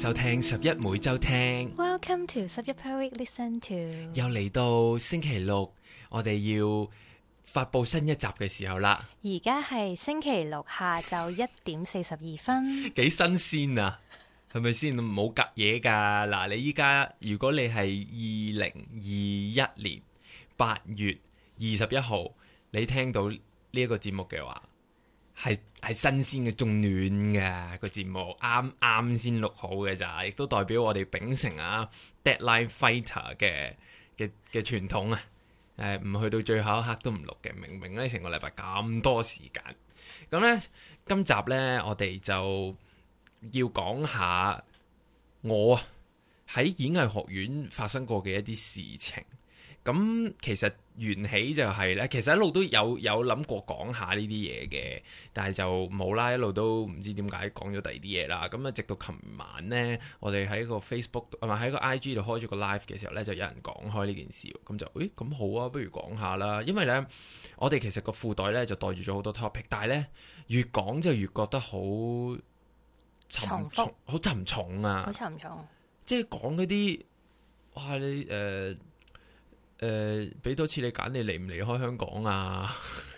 收聽11每週聽。 Welcome to 11 per week listen to。 又嚟到星期六，我哋要發佈新一集嘅時候啦。 而家係星期六下晝1:42。 幾新鮮啊，係咪先？冇隔夜噶。嗱，你依家如果你係2021年8月21號，你聽到呢一個節目嘅話，係新鮮嘅，仲暖嘅個節目，啱啱先錄好嘅咋，亦都代表我哋秉承啊 Deadline Fighter 嘅傳統啊。唔去到最後一刻都唔錄嘅，明明咧成個禮拜咁多時間。咁咧今集咧我哋就要講下我喺演藝學院發生過嘅一啲事情。咁其實緣起就係咧，其實一路都有諗過講下呢啲嘢嘅，但係就冇啦，一路都唔知點解講咗第二啲嘢啦。咁啊，直到琴晚呢，我哋喺個 Facebook 唔係喺個 IG 度開咗個 live 嘅時候呢，就有人講開呢件事，咁就咁好啊，不如講下啦。因為呢，我哋其實個褲袋呢就袋住咗好多 topic， 但係呢，越講就越覺得好沉重，好沉重啊， 好沉重。 即係講嗰啲，哇你俾多次你揀，你離唔離開香港啊？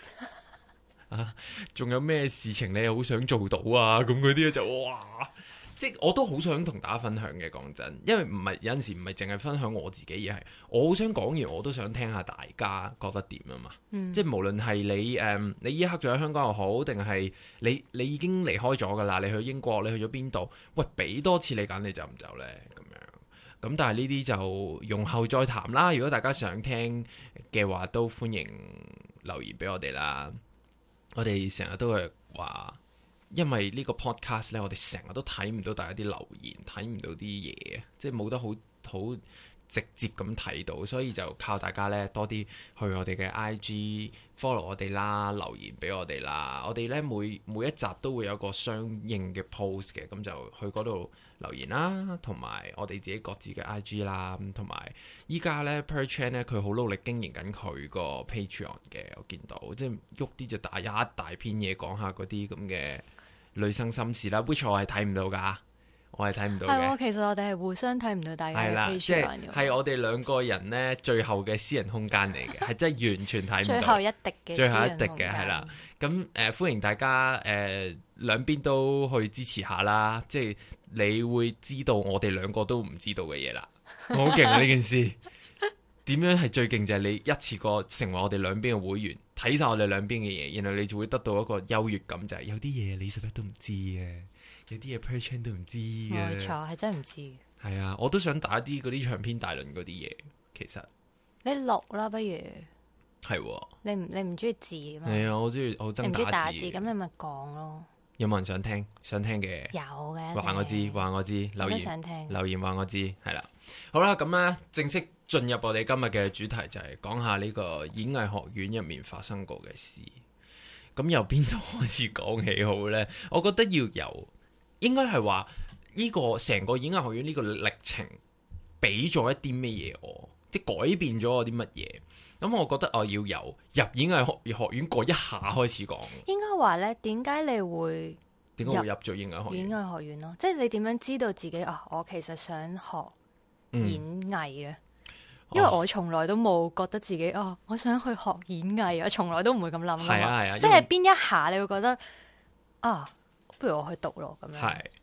仲有咩事情你好想做到啊？咁嗰啲就哇，即係我都好想同大家分享嘅。講真，因為唔係有陣時唔係淨係分享我自己，而係我好想講完，我都想聽下大家覺得點啊嘛。即係無論係你依一刻仲喺香港又好，定係你已經離開咗噶啦，你去英國，你去咗邊度？喂，俾多次你揀，你走唔走呢？咁樣。咁但係呢啲就容後再談啦。如果大家想聽嘅話，都歡迎留言俾我哋啦。我哋成日都係話，因為呢個 podcast 呢，我哋成日都睇唔到大家啲留言，睇唔到啲嘢，即係冇得好直接咁睇到，所以就靠大家呢多啲去我哋嘅 IG follow 我哋啦，留言俾我哋啦。我哋呢每一集都會有個相應嘅 post 嘅，咁就去嗰度留言啦，同埋我哋自己各自嘅 IG 啦，同埋依家呢 Per Chan 呢，佢好努力經營緊佢個 Patreon 嘅，我見到即係喐啲就打一大篇嘢講下嗰啲咁嘅女生心事啦，which 我係睇唔到㗎。我係睇唔到嘅。 係，其實我哋係互相睇唔到大家嘅 Patreon 即係我哋兩個人呢，最後嘅私人空間嚟嘅，係真係完全睇唔到。 最後一滴嘅， 最後一滴嘅係啦。咁歡迎大家兩邊都去支持下啦。即係你會知道我哋兩個都唔知道嘅嘢啦。好勁啊！呢件事點樣係最勁就係你一次過成為我哋兩邊嘅會員，睇晒我哋兩邊嘅嘢，然後你就會得到一個優越感，就係有啲嘢你實在都唔知嘅。有啲嘢 Per Chan 都唔知嘅， 冇錯，係真係唔知。 係啊，我都想打啲嗰啲長篇大論嗰啲嘢，其實你錄啦，不如係喎。 你唔中意字嘛？ 係啊，我中意，我憎打字。 咁你咪講咯。 有冇人想聽？想聽嘅有嘅， 話我知，話我知，留言想聽留言話我知，係啦。好啦，咁咧正式進入我哋今日嘅主題，就係講下呢個演藝學院入面發生過嘅事。咁由邊度開始講起好呢？我覺得要由應該係話呢個成個演藝學院呢個歷程俾咗一啲咩嘢我，即係改變咗我啲乜嘢。咁我覺得我要由入演藝學院嗰一下開始講。 應該話呢，點解你會入咗演藝學院？ 演藝學院咯，即係你點樣知道自己我其實想學演藝呢？因為我從來都冇覺得自己我想去學演藝，我從來都唔會咁諗。 係啊， 即係邊一下你會覺得不如我去讀咯咁樣。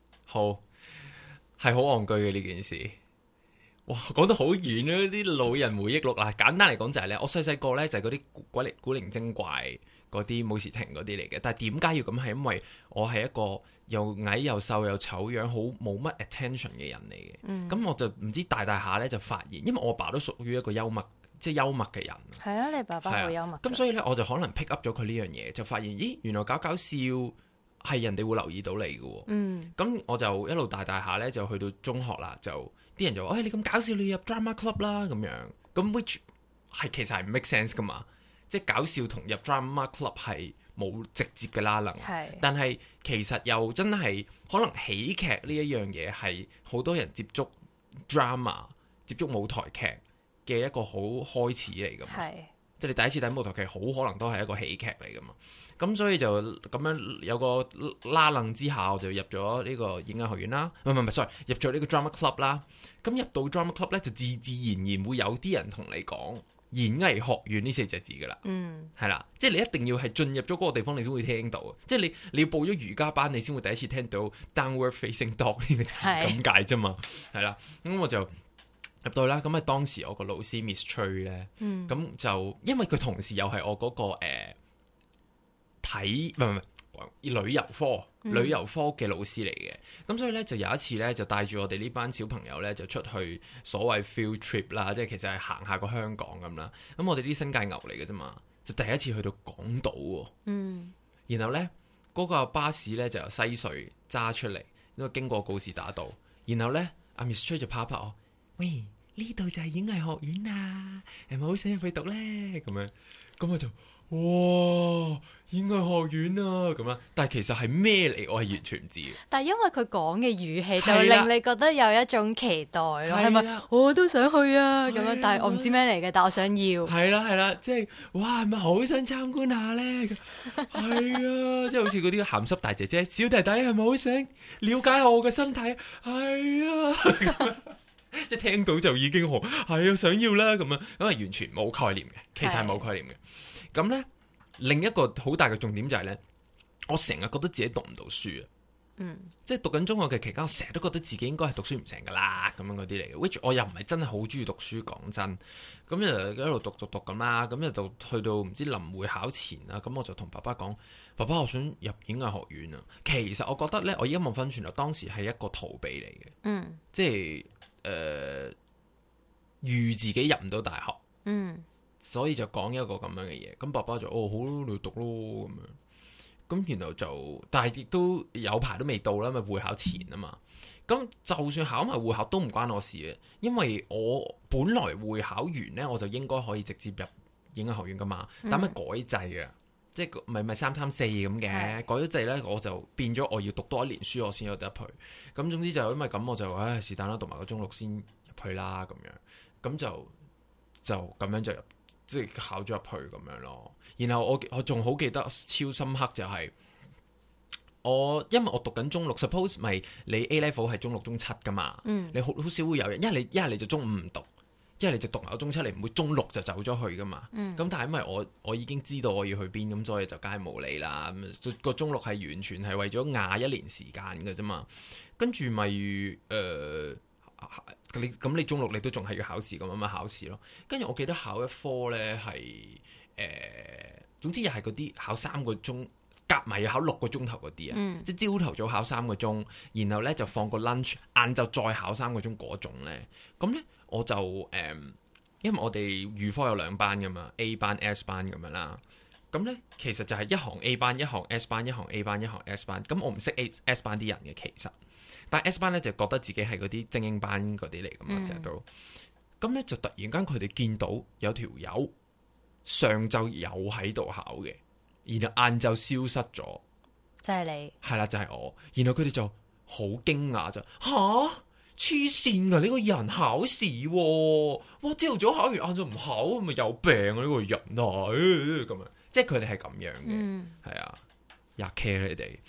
係好戇居嘅呢件事。哇，講得好遠啊！啲老人回憶錄啦，簡單嚟講就係咧，我細細個咧就係嗰啲古靈精怪嗰啲武士亭嗰啲嚟嘅。但係點解要咁？係因為我係一個又矮又瘦又醜樣，好冇乜 attention 嘅人嚟嘅。咁我就唔知大下咧就發現，因為我爸都屬於一個幽默嘅人。係啊，你爸爸好幽默。 咁所以咧，我就可能 pick up 咗佢呢樣嘢，就發現咦，原來搞笑係人哋會留意到你嘅。咁我就一路大下咧，就去到中學啦，就啲人就話：你咁搞笑，你要入 drama club 啦咁樣。咁 which 係其實係唔 make sense 噶嘛？即係搞笑同入 drama club 係冇直接嘅拉能。但係其實又真係可能喜劇呢一樣嘢係好多人接觸 drama、接觸舞台劇嘅一個好開始嚟㗎嘛。 即係你第一次睇舞台劇，好可能都係一個喜劇嚟噶嘛。咁所以就咁樣有個拉楞之下，我就入咗呢個演藝學院啦。唔係，sorry，入咗呢個 drama club 啦。咁入到 drama club 咧，就自然會有啲人同你講演藝學院呢4隻字噶啦。係啦，即係你一定要係進入咗嗰個地方，你先會聽到。即係你要報咗瑜伽班，你先會第一次聽到 downward facing dog 呢個字咁解啫嘛。係啦，咁我就入到去啦。咁啊，當時我個老師 Miss Trey 咧，咁就因為佢同時又係我嗰個旅遊科嘅老師嚟嘅，咁所以咧就有一次咧就帶住我哋呢班小朋友咧就出去所謂 field trip 啦，即係其實係行下個香港咁啦。咁我哋啲新界牛嚟嘅啫嘛，就第一次去到港島喎。然後咧嗰個巴士咧就由西隧揸出嚟，因為經過告士打道。然後咧阿 Miss Trey 就拍我，喂，呢度就係演藝學院啊，係咪好想入去讀咧？咁樣，咁我就哇！演藝學院啊，咁啦，但係其實係咩嚟？我係完全唔知嘅。但係因為佢講嘅語氣，就令你覺得有一種期待咯，係咪？我都想去啊，咁樣，但係我唔知咩嚟嘅，但我想要。係啦，即係哇，係咪好想參觀下咧？係啊，即係好似嗰啲鹹濕大姐姐、小弟弟，係咪好想了解下我嘅身體？係啊，即係聽到就已經係啊，想要啦咁樣，因為完全冇概念嘅，其實係冇概念嘅。咁咧，另一個好大嘅重點就係咧，我成日覺得自己讀唔到書啊。即係讀緊中學嘅期間，我成日都覺得自己應該係讀書唔成噶啦，咁樣嗰啲嚟嘅。which 我又唔係真係好中意讀書，講真。咁就一路讀咁啦，咁就去到唔知臨會考前啦，咁我就同爸爸講：爸爸，我想入演藝學院啊。其實我覺得咧，我而家望翻轉頭，當時係一個逃避嚟嘅。即係預自己入唔到大學。所以就講一個咁樣嘅嘢，咁爸爸就好你讀咯咁樣，咁然後就，但係亦都有排都未到啦，咪會考前啊嘛，咁就算考埋會考都唔關我事嘅，因為我本來會考完呢，我就應該可以直接入演藝學院噶嘛，但係改制啊，即係咪334咁嘅，改咗制呢，我就變咗我要讀多1年書我先有得入去，咁總之就因為咁我就是但啦，讀埋個中六先入去啦咁樣，咁就咁樣就入。即係考咗入去咁樣咯，然後我仲好記得超深刻就係因為我讀緊中六 ，suppose 咪你 A level 係中六中七噶嘛，你好少會有人，一係你就中五唔讀，一係你就讀埋中七，你唔會中六就走咗去噶嘛。咁但係因為我已經知道我要去邊，咁所以就梗係冇理啦。個中六係完全係為咗壓1年時間嘅啫嘛，跟住咪你中六你都仲係要考試咁樣考試咯，跟住我記得考一科呢係總之又係嗰啲考3個鐘，夾埋要考6個鐘頭嗰啲啊，即係朝頭早考3個鐘，然後呢就放個 lunch，晏晝再考3個鐘嗰種呢。咁呢我就因為我哋預科有2班噶嘛 ，A 班 S 班咁樣啦，咁呢其實就係一行 A 班，一行 S 班，一行 A 班，一行 S 班，咁我唔識 S 班啲人嘅其實。但 S 班咧就覺得自己係嗰啲精英班嗰啲嚟噶嘛，成日都咁咧就突然間佢哋見到有條友上晝有喺度考嘅，然後晏晝消失咗，就係你係啦，就係我。然後佢哋就好驚訝就黐線啊！呢個人考試哇，朝頭早考完晏晝唔考，咪有病啊！呢個人啊咁樣，即係佢哋係咁樣嘅，係啊，吔 care 你哋。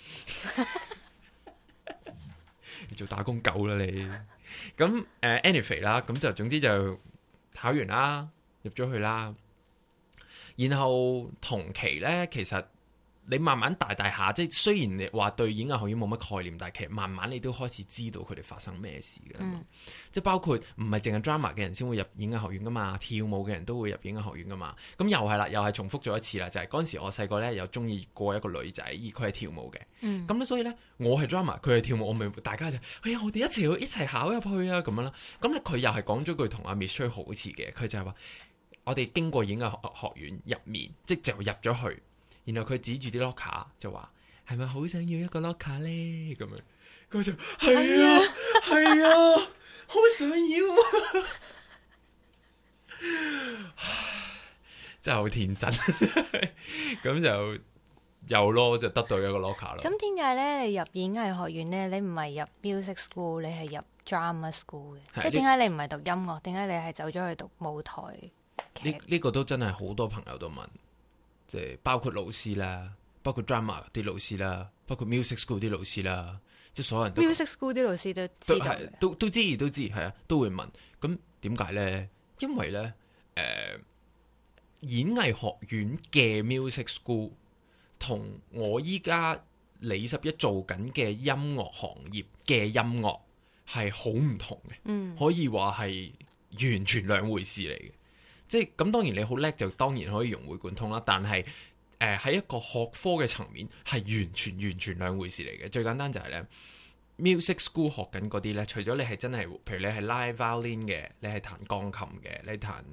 你做打工狗啦你，咁anyway 啦，咁就總之就考完啦，入咗去啦，然後同期呢，其實你慢慢大下，即係雖然你話對演藝學院冇乜概念，但係其實慢慢你都開始知道佢哋發生咩事嘅，即係包括唔係淨係 drama 嘅人先會入演藝學院噶嘛，跳舞嘅人都會入演藝學院噶嘛，咁又係啦，又係重複咗一次啦，就係嗰陣時我細個呢，又中意過一個女仔，而佢係跳舞嘅，咁所以呢，我係 drama，佢係跳舞，我咪大家就哎呀我哋一齊考入去啊咁樣啦，咁咧佢又係講咗句同阿 Miss Trey 好似嘅，佢就係話我哋經過演藝學院入面，即就入咗去。然後佢指住啲 locker 就話：係咪好想要一個 locker 咧？咁樣，佢就係啊，好想要啊！真係好天真，咁就有咯，就得到一個 locker 咯。 咁點解咧？你入演藝學院咧，你唔係入 music school，你係入 drama school 嘅？即係點解你唔係讀音樂？點解你係走咗去讀舞台呢個都真係好多朋友都問，即係包括老師啦，包括 drama 啲老師啦，包括 music school 啲老師啦，即係所有人都 music school 啲老師都知道嘅， 都知係啊，都會問。咁點解咧？因為咧，演藝學院嘅 music school 同我依家李十一做緊嘅音樂行業嘅音樂係好唔同嘅，可以話係完全兩回事嚟嘅。即係咁，當然你好叻就當然可以融會貫通啦。但係喺一個學科嘅層面係完全兩回事嚟嘅。最簡單就係咧，music school 學緊嗰啲咧，除咗你係真係，譬如你係 live violin 嘅，你係彈鋼琴嘅，你彈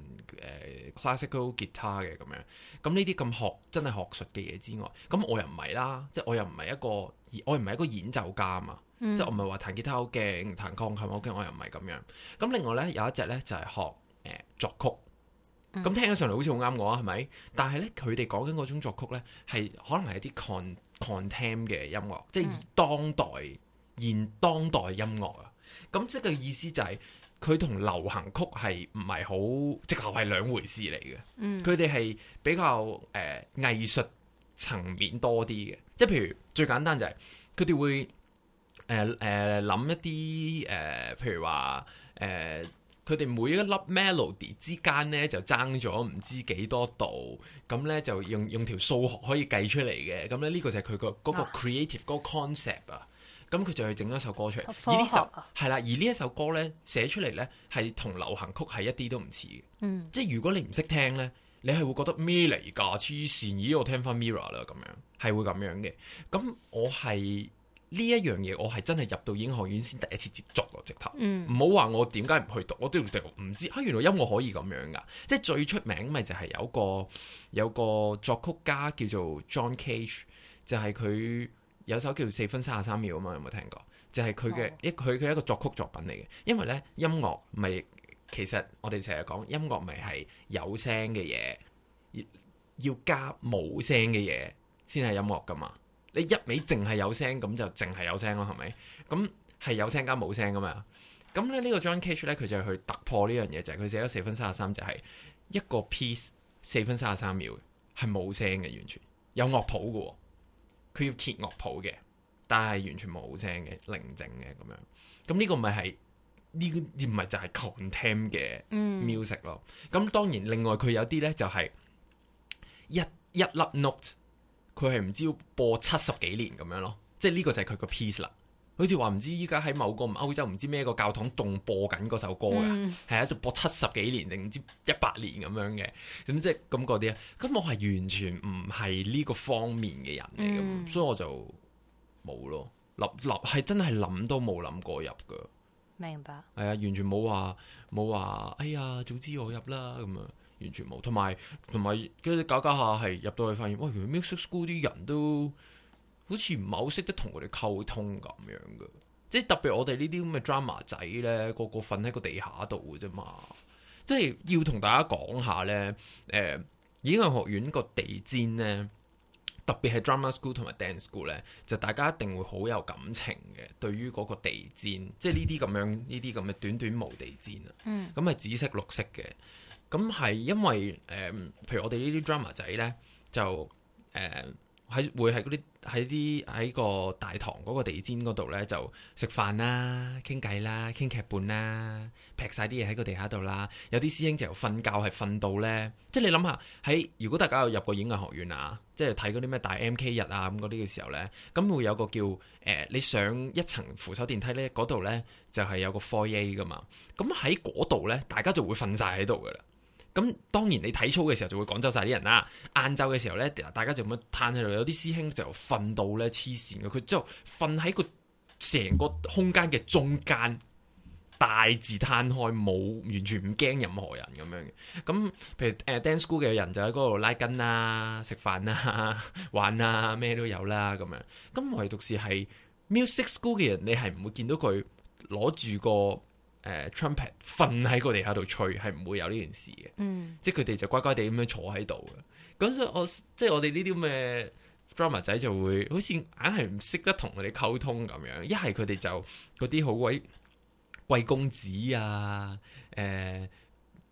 classical guitar 嘅咁樣，咁呢啲咁真係學術嘅嘢之外，咁我又唔係啦，即係我又唔係一個演奏家啊嘛，即係我唔係話彈吉他好勁，彈鋼琴好勁，我又唔係咁樣。咁另外咧有一隻咧就係學作曲。咁聽起上嚟好似好啱我啊，係咪？但係咧，佢哋講緊嗰種作曲咧，係可能係一啲 contempt 嘅音樂，即係現當代音樂啊。咁即係個意思就係佢同流行曲係唔係好，直頭係兩回事嚟嘅。佢哋係比較藝術層面多啲嘅，即係譬如最簡單就係佢哋會諗一啲譬如話佢哋每一粒 melody 之間咧就爭咗唔知幾多度，咁咧就用條數學可以計出嚟嘅。咁咧呢個就係佢嗰個 creative 嗰個 concept 啊。咁佢就去整咗一首歌出嚟。而呢首係啦，而呢一首歌咧寫出嚟咧係同流行曲係一啲都唔似嘅。即係如果你唔識聽咧，你係會覺得咩嚟㗎？黐線！咦，我聽翻 Mirror 啦，咁樣係會咁樣嘅。咁我係。呢一樣嘢我係真係入到演藝學院先第一次接觸咯，直頭唔好話我點解唔去讀，我都唔知原來音樂可以咁樣噶。即係最出名咪就係有個作曲家叫做 John Cage， 就係佢有首叫4分33秒啊嘛，有冇聽過？就係佢嘅佢一個作曲作品嚟嘅。因為咧音樂咪其實我哋成日講音樂咪係有聲嘅嘢，要加冇聲嘅嘢先係音樂噶嘛。你一味淨係有聲咁就淨係有聲咯，係咪？咁係有聲加冇聲噶嘛？咁咧呢個 John Cage 咧佢就去突破呢樣嘢，就係佢寫咗4分33，就係一個 piece 4分33秒係冇聲嘅，完全有樂譜嘅，佢要揭樂譜嘅，但係完全冇聲嘅，寧靜嘅咁樣。咁呢個咪係呢個唔係就係 contempt 嘅 music 咯。咁當然另外佢有啲咧就係一粒 note。佢係唔知要播70幾年咁樣咯，即係呢個就係佢個 piece 啦。好似話唔知依家喺某個歐洲唔知咩個教堂仲播緊嗰首歌㗎，係啊，仲播70幾年定唔知100年咁樣嘅，咁即係咁嗰啲啊。咁我係完全唔係呢個方面嘅人嚟嘅，所以我就冇咯，係真係諗都冇諗過入㗎。 明白。係啊， 完全冇話，哎呀，早知我入啦咁啊。完全冇，同埋跟住搞下係入到去發現，哇！原來 music school 啲人都好似唔係好識得同佢哋溝通咁樣嘅，即係特別我哋呢啲咁嘅 drama 仔咧，個瞓喺個地下度嘅啫嘛，即係要同大家講下咧，演藝學院個地氈咧，特別係 drama school 同埋 dance school 咧，就大家一定會好有感情嘅，對於嗰個地氈，即係呢啲咁嘅短短毛地氈啊，咁係紫色綠色嘅。咁係因為譬如我哋呢啲 drama 仔咧，就會喺個大堂嗰個地氈嗰度咧，就食飯啦、傾偈啦、傾劇本啦，劈晒啲嘢喺個地下度啦。有啲師兄就瞓覺係瞓到咧，即係你諗下如果大家有入過演藝學院啊，即係睇嗰啲咩大 MK 日啊咁嗰啲嘅時候咧，咁會有個叫你上一層扶手電梯咧，嗰度咧就係有個 foyer 噶嘛。咁喺嗰度咧，大家就會瞓晒喺度噶啦。咁當然你體操嘅時候就會趕走晒啲人啦。晏晝嘅時候咧，大家就咁樣攤喺度。有啲師兄就瞓到咧黐線嘅，佢之後瞓喺個成個空間嘅中間，大字攤開，冇完全唔驚任何人咁樣嘅。咁譬如dance school 嘅人就喺嗰度拉筋啦、食飯啦、玩啦，咩都有啦咁樣。咁唯獨是係 music school 嘅人，你係唔會見到佢攞住個trumpet 瞓喺個地下度吹，係唔會有呢件事嘅。即係佢哋就乖乖地咁樣坐喺度嘅。咁所以我哋呢啲咁嘅 drama 仔就會好似硬係唔識得同佢哋溝通咁樣。一係佢哋就嗰啲好鬼貴公子啊，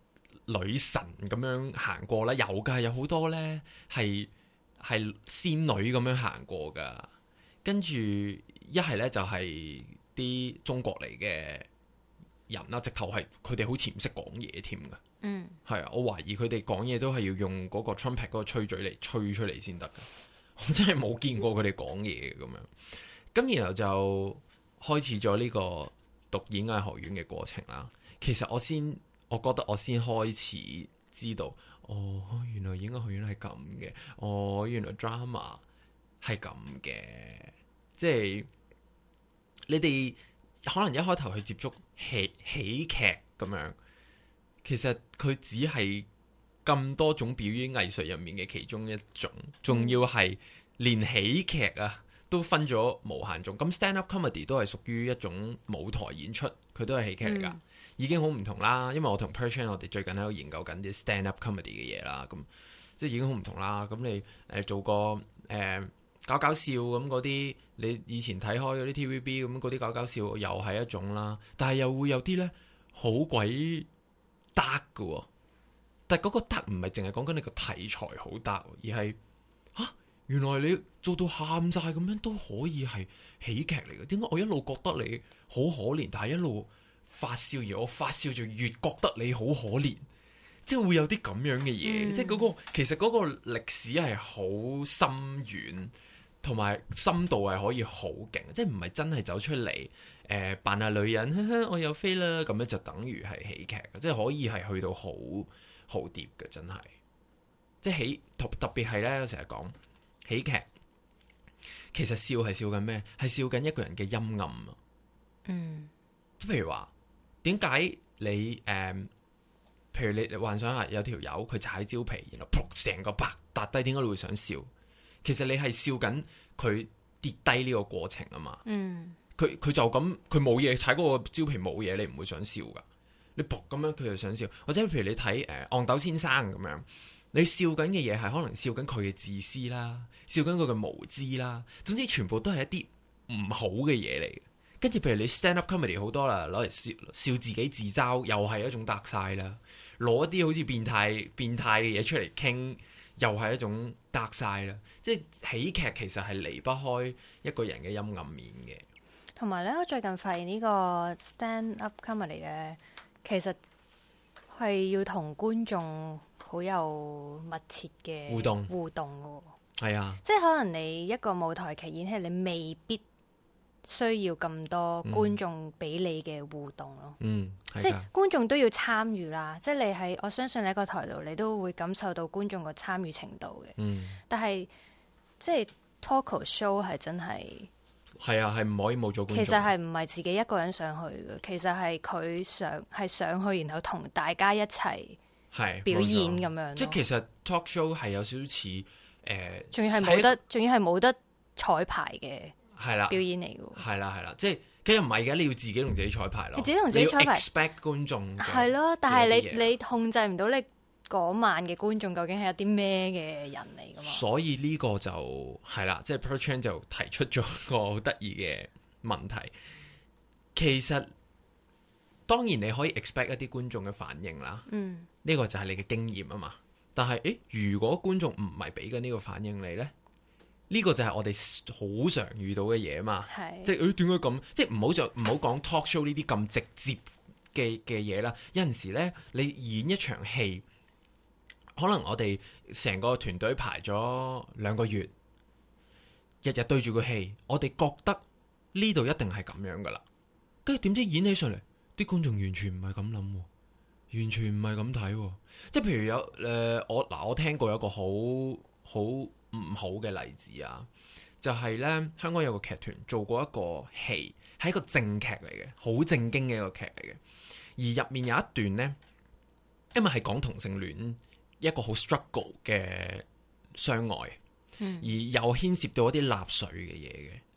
女神咁樣行過啦，有㗎，有好多呢係仙女咁樣行過㗎，跟住一係呢，就係啲中國嚟嘅人啦，直頭係佢哋好似唔識講嘢添㗎。係啊，我懷疑佢哋講嘢都係要用嗰個 trumpet 嗰個吹嘴嚟吹出嚟先得㗎。我真係冇見過佢哋講嘢咁樣。咁然後就開始咗呢個讀演藝學院嘅過程啦。其實我覺得我先開始知道，哦，原來演藝學院係咁嘅，哦，原來 drama 係咁嘅，即係你哋可能一開頭去接觸喜劇咁樣，其實佢只係咁多種表演藝術入面嘅其中一種，仲要係連喜劇啊都分咗無限種。咁 stand up comedy 都係屬於一種舞台演出，佢都係喜劇嚟㗎。已經好唔同啦，因為我同 Per Chan 我哋最近喺度研究緊啲 stand up comedy 嘅嘢啦，咁即係已經好唔同啦。咁你做個搞笑咁嗰啲，你以前睇開嗰啲 TVB 咁嗰啲搞笑又係一種啦，但係又會有啲呢好鬼得㗎，但係嗰個得唔係淨係講緊你個題材好得，而係原來你做到喊晒咁樣都可以係喜劇嚟嘅。點解我一路覺得你好可憐，但係一路發笑，而我發笑就越覺得你好可憐，即係會有啲咁樣嘅嘢，即係其實嗰個歷史係好深遠，同埋深度係可以好勁，即係唔係真係走出嚟扮下女人，呵呵我又飛啦，咁樣就等於係喜劇，即係可以係去到好 deep 嘅，真係，即係特別係咧，我成日講喜劇，其實笑係笑緊咩？係笑緊一個人嘅陰暗啊。即譬如話。點解你譬如你幻想下有條友佢踩蕉皮，然後撲成個白笪低，點解你會想笑？其實你係笑緊佢跌低呢個過程啊嘛。佢就咁，佢冇嘢踩嗰個蕉皮冇嘢，你唔會想笑噶。你撲咁樣，佢就想笑。或者譬如你睇憨豆先生咁樣，你笑緊嘅嘢係可能笑緊佢嘅自私啦，笑緊佢嘅無知啦。總之全部都係一啲唔好嘅嘢嚟。跟住，譬如你 stand up comedy 好多啦，攞嚟笑自己自嘲，又係一種 dark side 啦。攞一啲好似變態嘅嘢出嚟傾，又係一種 dark side 啦。即係喜劇其實係離不開一個人嘅陰暗面嘅。 同埋咧，我最近發現呢個 stand up comedy 咧，其實係要同觀眾好有密切嘅互動嘅。 係啊， 即係可能你一個舞台劇演戲，你未必需要咁多觀眾俾你嘅互動咯，即係觀眾都要參與啦。即係我相信你喺個台度，你都會感受到觀眾個參與程度嘅。但係即係 talk show 係真係啊，係唔可以冇咗觀眾。其實係唔係自己一個人上去嘅，其實係佢上去，然後同大家一齊表演咁樣。 即係其實 talk show 係有少少似仲要係冇得彩排嘅。係啦，表演嚟嘅。 係啦，即係其實唔係嘅，你要自己同自己彩排咯。 你自己同自己彩排 expect 觀眾係咯，但係你控制唔到你嗰晚嘅觀眾究竟係一啲咩嘅人嚟㗎嘛？所以呢個就係啦，即係 Per Chan 就提出咗個好得意嘅問題。其實當然你可以 expect 一啲觀眾嘅反應啦。呢個就係你嘅經驗啊嘛。但係如果觀眾唔係俾緊呢個反應你咧？呢個就係我哋好常遇到嘅嘢嘛，即係點解咁？即係唔好講 talk show 呢啲咁直接嘅嘢啦。有陣時咧，你演一場戲，可能我哋成個團隊排咗2個月，日日對住個戲，我哋覺得呢度一定係咁樣噶啦。跟住點知演起上嚟，啲觀眾完全唔係咁諗，完全唔係咁睇。即係譬如有我聽過有一個好唔好嘅例子啊，就係咧，香港有個劇團做過一個戲，係一個正劇嚟嘅，好正經嘅一個劇嚟嘅。而入面有一段呢，因為係講同性戀一個好 struggle 嘅相愛，而又牽涉到一啲納粹嘅嘢嘅，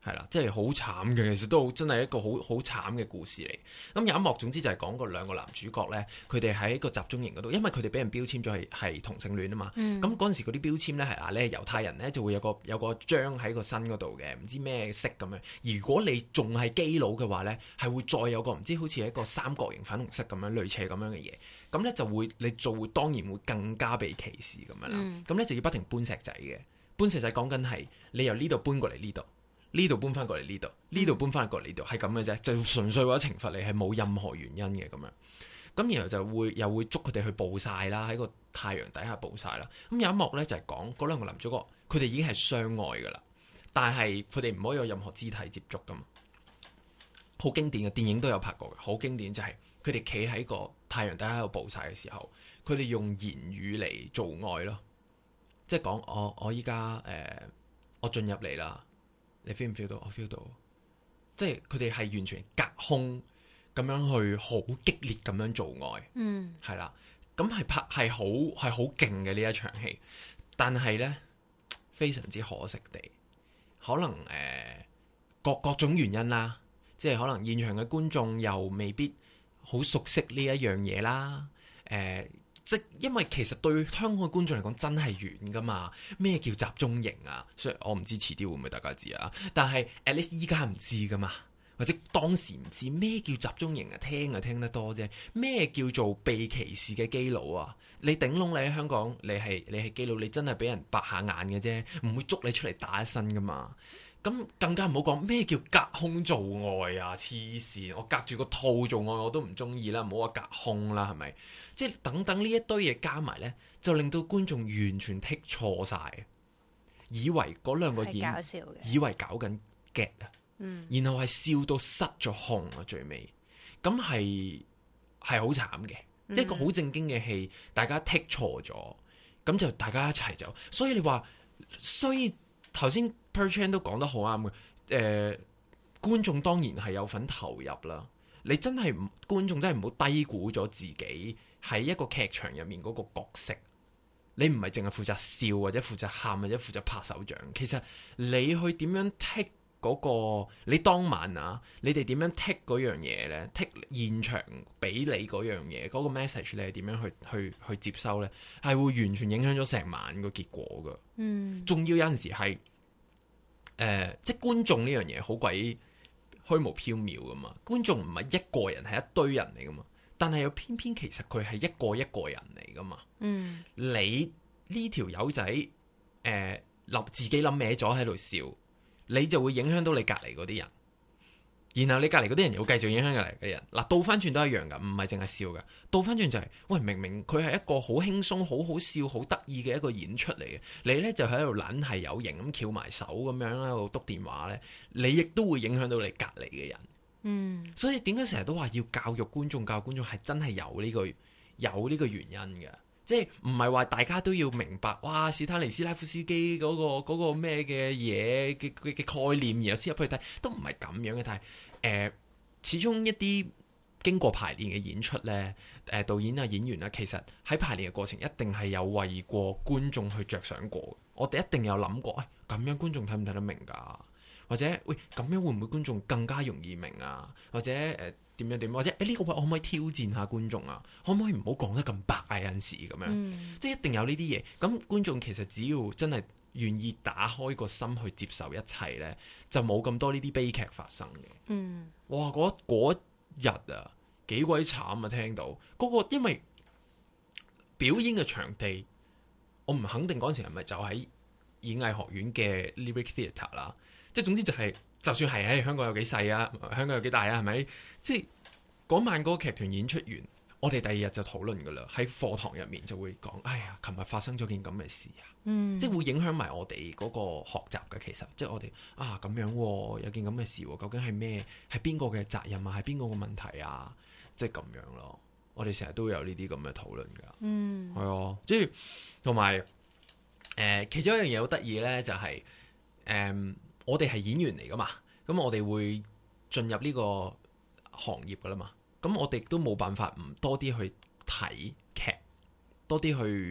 係啦，即係好慘嘅，其實都真係一個好慘嘅故事嚟。咁有一幕，總之就係講嗰兩個男主角呢，佢哋喺個集中營嗰度，因為佢哋俾人標籤咗係同性戀啊嘛。咁嗰陣時嗰啲標籤呢係你係猶太人呢，就會有個章喺個身嗰度嘅，唔知咩色咁樣。如果你仲係基佬嘅話呢，係會再有個唔知好似係一個三角形粉紅色咁樣類似係咁樣嘅嘢。咁呢就會你會當然會更加被歧視咁樣啦。咁呢就要不停搬石仔嘅，搬石仔講緊係你由呢度搬過嚟呢度。呢度搬翻過嚟呢度，呢度搬翻過嚟呢度，係咁嘅啫，就純粹為咗懲罰你，係冇任何原因嘅咁樣。咁然後就又會捉佢哋去暴曬啦，喺個太陽底下暴曬啦。咁有一幕呢，就係講嗰兩個男主角，佢哋已經係相愛噶啦，但係佢哋唔可以有任何肢體接觸噶嘛。好經典嘅電影都有拍過嘅，好經典就係佢哋企喺個太陽底下喺度暴曬嘅時候，佢哋用言語嚟做愛咯，即係講我依家我進入嚟啦。你 feel 唔 feel 到？我 feel 到，即係佢哋係完全隔空咁樣去好激烈咁樣做愛，係啦，咁係好勁嘅呢一場戲，但係呢，非常之可惜地，可能各種原因啦，即係可能現場嘅觀眾又未必好熟悉呢一樣嘢啦，即因為其實對香港嘅觀眾嚟講真係遠噶嘛，咩叫集中營啊？所以我唔知遲啲會唔會大家知啊？但係 at least 依家唔知噶嘛，或者當時唔知咩叫集中營啊？聽得多啫。咩叫做被歧視嘅基佬啊？你頂籠你喺香港，你係基佬，你真係俾人白下眼嘅啫，唔會捉你出嚟打一身噶嘛。咁更加唔好講咩叫隔空做愛啊！黐線，我隔住個套做愛我都唔中意啦，唔好話隔空啦，係咪？即係等等呢一堆嘢加埋呢，就令到觀眾完全剔錯晒，以為嗰兩個演以為搞緊 get 啊，然後係笑到失咗控啊，最尾咁係好慘嘅，一個好正經嘅戲，大家剔錯咗，咁就大家一齊走，所以你話，所以頭先 Per-Chan 都講得好啱嘅，觀眾當然係有份投入啦。你真係觀眾真係唔好低估咗自己喺一個劇場入面嗰個角色。你唔係淨係負責笑或者負責喊或者負責拍手掌，其實你去點樣 take 嗰個，你當晚啊，你哋點樣 take 嗰樣嘢呢？ take 現場俾你嗰樣嘢，嗰個 message 你係點樣去接收呢？係會完全影響咗成晚個結果噶。仲要有陣時係即係觀眾呢樣嘢好鬼虛無縹緲噶嘛，觀眾唔係一個人，係一堆人嚟噶嘛，但係又偏偏其實佢係一個人嚟噶嘛。你呢條友仔自己諗歪咗喺度笑，你就會影響到你隔離嗰啲人，然後你隔離嗰啲人又會繼續影響隔離嘅人。嗱，倒翻轉都一樣噶，唔係淨係笑噶，倒翻轉就係，喂，明明佢係一個好輕鬆、好好笑、好得意嘅一個演出嚟嘅，你呢就喺度懶係有型咁翹埋手咁樣喺度篤電話呢，你亦都會影響到你隔離嘅人。所以點解成日都話要教育觀眾係真係有呢個原因嘅，即係唔係話大家都要明白哇史坦尼斯拉夫斯基嗰個咩嘅嘢嘅概念，然後先入去睇，都唔係咁樣嘅。但係始終一啲經過排練嘅演出呢，導演啊演員啊，其實喺排練嘅過程一定係有為過觀眾去着想過。我哋一定有諗過，咁樣觀眾睇唔睇得明㗎？或者喂，咁樣會唔會觀眾更加容易明啊？或者點樣，或者呢個位我可唔可以挑戰下觀眾啊？可唔可以唔好講得咁白啊？有陣時咁樣，即係一定有呢啲嘢。咁觀眾其實只要真係願意打開個心去接受一切呢，就冇咁多呢啲悲劇發生嘅。哇！嗰日啊，幾鬼慘啊！聽到嗰個，因為表演嘅場地，我唔肯定嗰陣時係咪就喺演藝學院嘅 Lyric Theatre 啦。即係總之就係，就算係喺香港有幾細啊，香港有幾大啊，係咪？即係嗰晚嗰個劇團演出完，我哋第二日就討論噶啦，喺課堂入面就會講，哎呀，琴日發生咗件咁嘅事啊，即係會影響埋我哋嗰個學習嘅。其實即係我哋咁樣有件咁嘅事，究竟係咩？係邊個嘅責任啊？係邊個嘅問題啊？即係咁樣咯。我哋成日都有呢啲咁嘅討論噶，係啊，即係同埋其中一樣嘢好得意咧，就係我哋係演員嚟噶嘛，咁我哋會進入呢個行業噶啦嘛，咁我哋都冇辦法唔多啲去睇劇，多啲去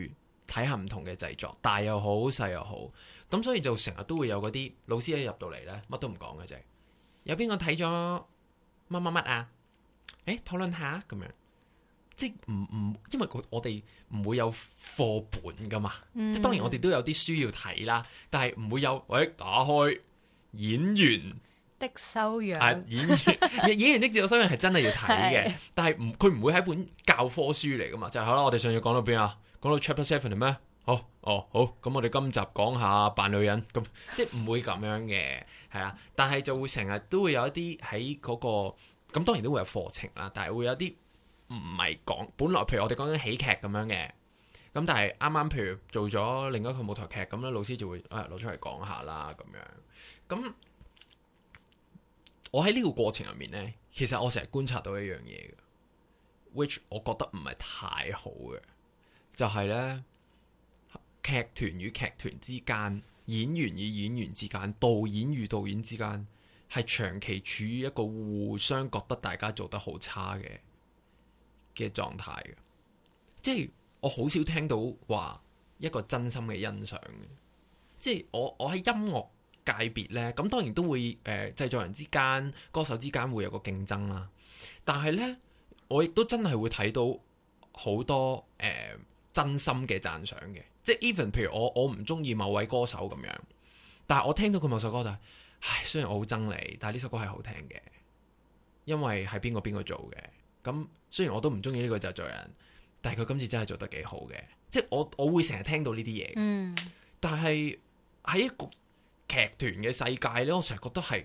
睇下唔同嘅製作，大又好細又好，咁所以就成日都會有嗰啲老師一入到嚟呢，乜都唔講嘅啫。有邊個睇咗乜乜乜啊？討論下咁樣，即係因為我哋唔會有課本噶嘛，即係當然我哋都有啲書要睇啦，但係唔會有打開演員的修養， 演員的自我修養係真係要睇嘅，但係佢唔會係一本教科書嚟噶嘛，就係好啦。我哋上次講到邊啊？講到 Chapter 7咩？好，咁我哋今集講下扮女人，咁即係唔會咁樣嘅，係啦。但係就會成日都會有一啲喺嗰個，咁當然都會有課程啦，但係會有啲唔係講，本來譬如我哋講緊喜劇咁樣嘅，咁但係啱啱譬如做咗另一個舞台劇咁咧，老師就會攞出嚟講下啦咁樣。咁我喺呢個過程入面呢，其實我成日觀察到一樣嘢嘅 which 我覺得唔係太好嘅，就係呢，劇團與劇團之間，演員與演員之間，導演與導演之間，係長期處於一個互相覺得大家做得好差嘅狀態嘅。即係我好少聽到話一個真心嘅欣賞嘅。即係我喺音樂界別呢，咁當然都會製作人之間、歌手之間會有個競爭啦。但係呢，我亦都真係會睇到好多真心嘅讚賞嘅。即係 even 譬如我唔中意某位歌手咁樣，但係我聽到佢某首歌就係，雖然我好憎你，但係呢首歌係好聽嘅，因為係邊個做嘅。咁雖然我都唔中意呢個製作人，但係佢今次真係做得幾好嘅。即係我會成日聽到呢啲嘢。但係喺一個劇團嘅世界呢，我成日覺得係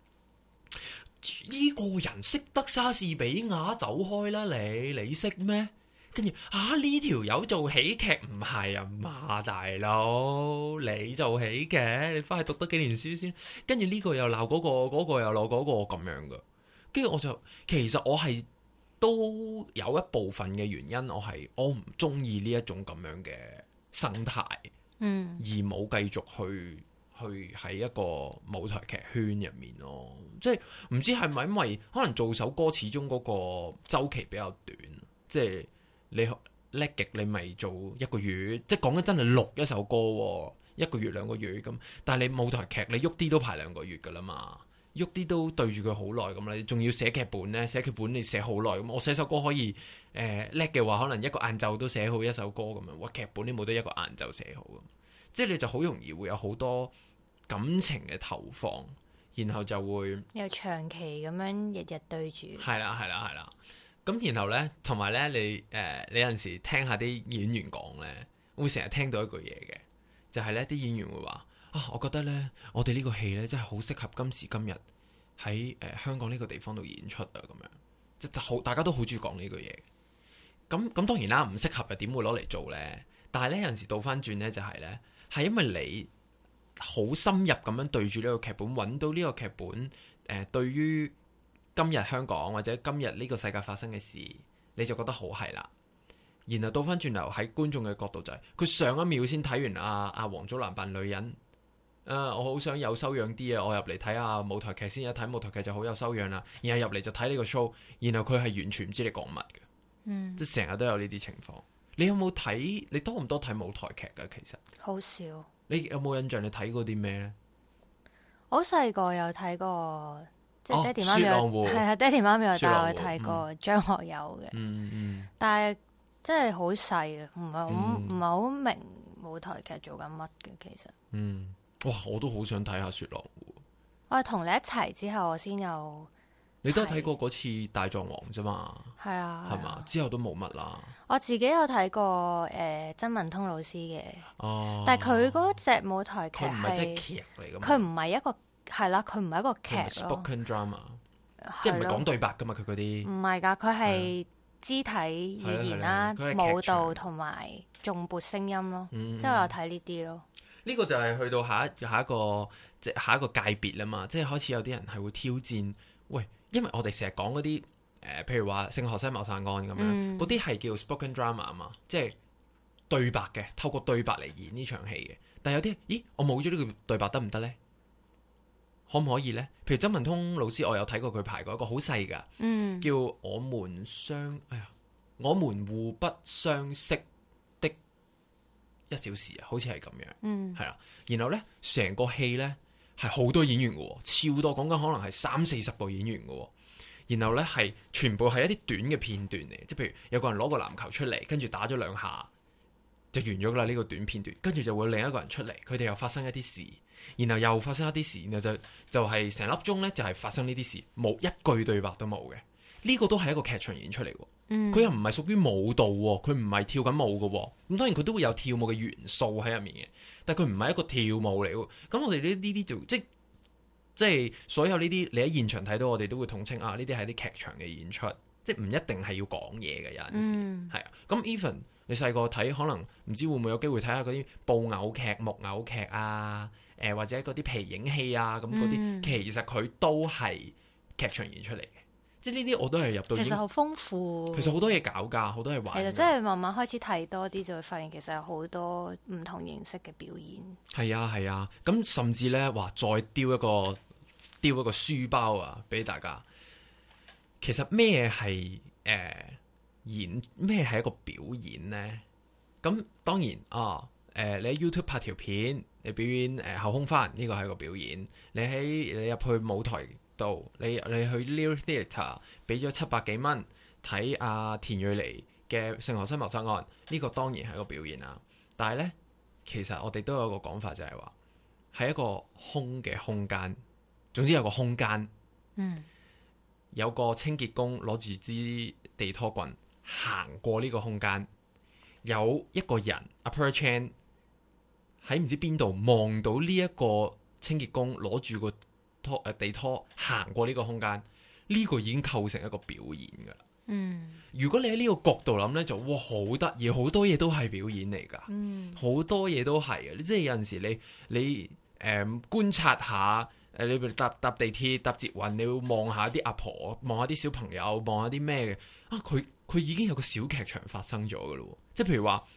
呢個人識得莎士比亞，走開啦，你識咩？跟住呢條友做喜劇唔係啊嘛，大佬你做喜劇，你翻去讀多幾年書先。跟住呢個又鬧嗰個，嗰個又鬧嗰個咁樣噶。跟住我就其實我係都有一部分嘅原因，我唔中意呢一種咁樣嘅生態，而冇繼續去喺一個舞台劇圈入面咯。即係唔知係咪因為可能做首歌始終嗰個週期比較短，即係。你叻極，你咪做一個月，即係講緊真係錄一首歌，一個月兩個月咁。但係你舞台劇，你喐啲都排2個月噶啦嘛，喐啲都對住佢好耐咁啦。你仲要寫劇本呢？寫劇本你寫好耐咁。我寫首歌可以叻嘅話，可能一個晏晝都寫好一首歌咁樣。哇，劇本你冇得一個晏晝寫好咁，即係你就好容易會有好多感情嘅投放，然後就會又長期咁樣日日對住。係啦。咁然後呢，同埋呢，你有陣時聽下啲演員講呢，會成日聽到一句嘢嘅，就係呢啲演員會話我覺得呢，我哋呢個戲呢，真係好適合今時今日喺香港呢個地方度演出啊，咁樣即係好，大家都好中意講呢句嘢。咁當然啦，唔適合又點會攞嚟做呢？但係呢，有陣時倒翻轉呢，就係呢，係因為你好深入咁樣對住呢個劇本，揾到呢個劇本對於今日香港或者今日呢個世界發生嘅事，你就覺得好係啦。然後倒翻轉頭喺觀眾嘅角度就係，佢上一秒先睇完阿王祖藍扮女人，我好想有修養啲啊！我入嚟睇下舞台劇先，一睇舞台劇就好有修養啦。然後入嚟就睇呢個 show，然後佢係完全唔知你講乜嘅，即係成日都有呢啲情況。你有冇睇？你多唔多睇舞台劇㗎？其實好少。你有冇印象？你睇過啲咩呢？ 我細個有睇過。即係爹哋媽咪係啊，爹哋媽咪有帶我去睇過張學友嘅，但係真係好細啊，唔係好明舞台劇做緊乜嘅其實。 哇！我都好想睇下《雪狼湖》。 我係同你一齊之後，我先有。 你都睇過嗰次《大狀王》啫嘛？係啊， 係嘛？之後都冇乜啦。 我自己有睇過曾文通老師嘅，但係佢嗰隻舞台劇唔係即係劇嚟㗎嘛？ 佢唔係一個。係啦，佢唔係一個劇咯。 Spoken drama，即係唔係講對白噶嘛？佢嗰啲唔係㗎，佢係肢體語言啦、舞蹈同埋重撥聲音咯。即係我有睇呢啲咯。 呢個就係去到下一個界別啦嘛，即係開始有啲人係會挑戰。喂，因為我哋成日講嗰啲譬如話《聖荷西謀殺案》咁樣，嗰啲係叫 spoken drama 啊嘛，即係對白嘅，透過對白嚟演呢場戲嘅。但係有啲，咦，我冇咗呢個對白得唔得呢？可唔可以呢？譬如曾文通老師，我有睇過佢排過一個好細噶，叫我們互不相識的 1小時啊，好似係咁樣，係啦。然後呢，成個戲呢係好多演員嘅，超多，講緊可能係30-40個演員嘅。然後呢，係全部係一啲短嘅片段嚟，即係譬如有個人攞個籃球出嚟，跟住打咗2下就完咗啦。呢個短片段，跟住就會另一個人出嚟，佢哋又發生一啲事，然後又發生一啲事，然後就係成粒鐘呢，就係發生呢啲事，冇一句對白都冇嘅。呢個都係一個劇場演出嚟，佢又唔係屬於舞蹈，佢唔係跳緊舞嘅。咁當然佢都會有跳舞嘅元素喺入面嘅，但係佢唔係一個跳舞嚟。咁我哋呢啲就即係所有呢啲你喺現場睇到，我哋都會統稱啊，呢啲係啲劇場嘅演出，即係唔一定係要講嘢嘅。有陣時係啊。咁 even 你細個睇，可能唔知會唔會有機會睇下嗰啲布偶劇、木偶劇啊，或者嗰啲皮影戲啊，咁嗰啲其實佢都係劇場演出嚟嘅。即係呢啲我都係入到， 其實好豐富。 其實好多嘢搞㗎，好多嘢玩。 其實真係慢慢開始睇多啲，就會發現其實有好多唔同形式嘅表演。係啊係啊，咁甚至咧話再丟一個書包啊，俾大家。其實咩係咩係一個表演呢？咁當然啊，你喺 YouTube 拍條片，你表演後空翻，呢個係一個表演。你入去舞台度，你去 Lyric Theatre 俾咗700幾蚊睇阿田蕊妮嘅《聖荷西謀殺案》，呢個當然係一個表演啦。但係呢，其實我哋都有個講法，就係話係一個空嘅空間。總之有個空間，有個清潔工攞住支地拖棍行過呢個空間，有一個人阿 Per Chan 喺唔知邊度望到呢一個清潔工攞住個地拖行過呢個空間，呢個已經構成一個表演㗎啦。如果你喺呢個角度諗呢，就哇好得意，好多嘢都係表演嚟㗎，好多嘢都係啊！即係有陣時你觀察下。你搭地鐵搭捷運，你會望下啲阿婆，望下啲小朋友，望下啲咩嘅啊？佢已經有個小劇場發生咗㗎咯。即係譬如話，